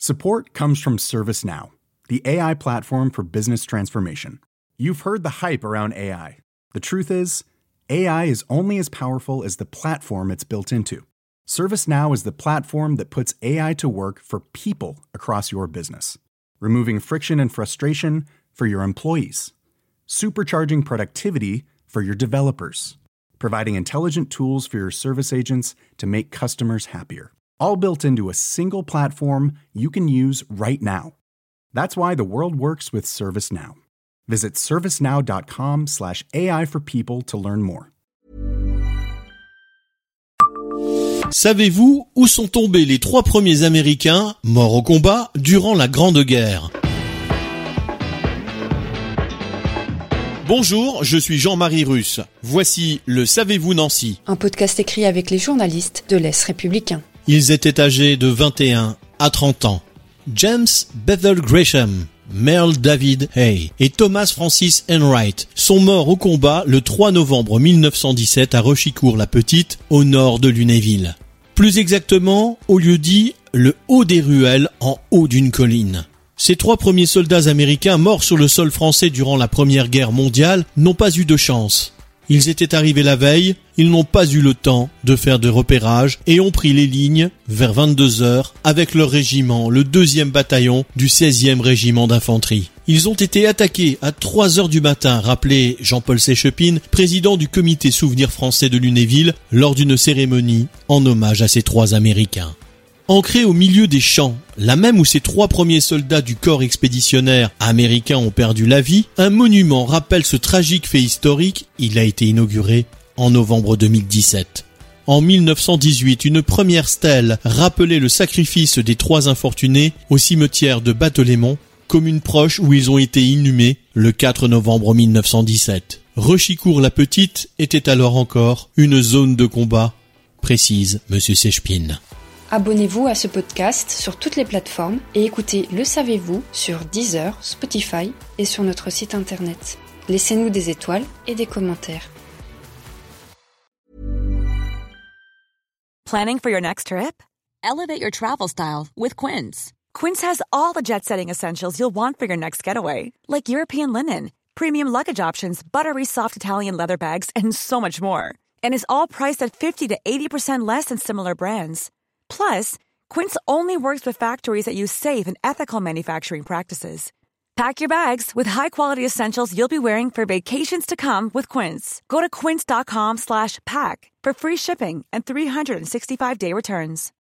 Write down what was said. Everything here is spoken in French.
Support comes from ServiceNow, the AI platform for business transformation. You've heard the hype around AI. The truth is, AI is only as powerful as the platform it's built into. ServiceNow is the platform that puts AI to work for people across your business, removing friction and frustration for your employees, supercharging productivity for your developers, providing intelligent tools for your service agents to make customers happier. All built into a single platform you can use right now. That's why the world works with ServiceNow. Visit servicenow.com/AI for people to learn more. Savez-vous où sont tombés les 3 premiers Américains morts au combat durant la Grande Guerre ? Bonjour, je suis Jean-Marie Russe. Voici le Savez-vous Nancy ? Un podcast écrit avec les journalistes de l'Est républicain. Ils étaient âgés de 21 à 30 ans. James Bethel Gresham, Merle David Hay et Thomas Francis Enright sont morts au combat le 3 novembre 1917 à Rochicourt-la-Petite, au nord de Lunéville. Plus exactement, au lieu-dit le Haut des Ruelles, en haut d'une colline. Ces 3 premiers soldats américains morts sur le sol français durant la Première Guerre mondiale n'ont pas eu de chance. Ils étaient arrivés la veille, ils n'ont pas eu le temps de faire de repérage et ont pris les lignes vers 22h avec leur régiment, le 2e bataillon du 16e régiment d'infanterie. Ils ont été attaqués à 3h du matin, rappelait Jean-Paul Séchepine, président du comité Souvenir français de Lunéville, lors d'une cérémonie en hommage à ces 3 Américains. Ancré au milieu des champs, là même où ces 3 premiers soldats du corps expéditionnaire américain ont perdu la vie, un monument rappelle ce tragique fait historique. Il a été inauguré en novembre 2017. En 1918, une première stèle rappelait le sacrifice des 3 infortunés au cimetière de Batelémont, commune proche où ils ont été inhumés le 4 novembre 1917. Rochicourt-la-Petite était alors encore une zone de combat, précise M. Séchepine. Abonnez-vous à ce podcast sur toutes les plateformes et écoutez Le Savez-vous sur Deezer, Spotify et sur notre site internet. Laissez-nous des étoiles et des commentaires. Planning for your next trip? Elevate your travel style with Quince. Quince has all the jet-setting essentials you'll want for your next getaway, like European linen, premium luggage options, buttery soft Italian leather bags, and so much more. And is all priced at 50 to 80% less than similar brands. Plus, Quince only works with factories that use safe and ethical manufacturing practices. Pack your bags with high-quality essentials you'll be wearing for vacations to come with Quince. Go to quince.com/pack for free shipping and 365-day returns.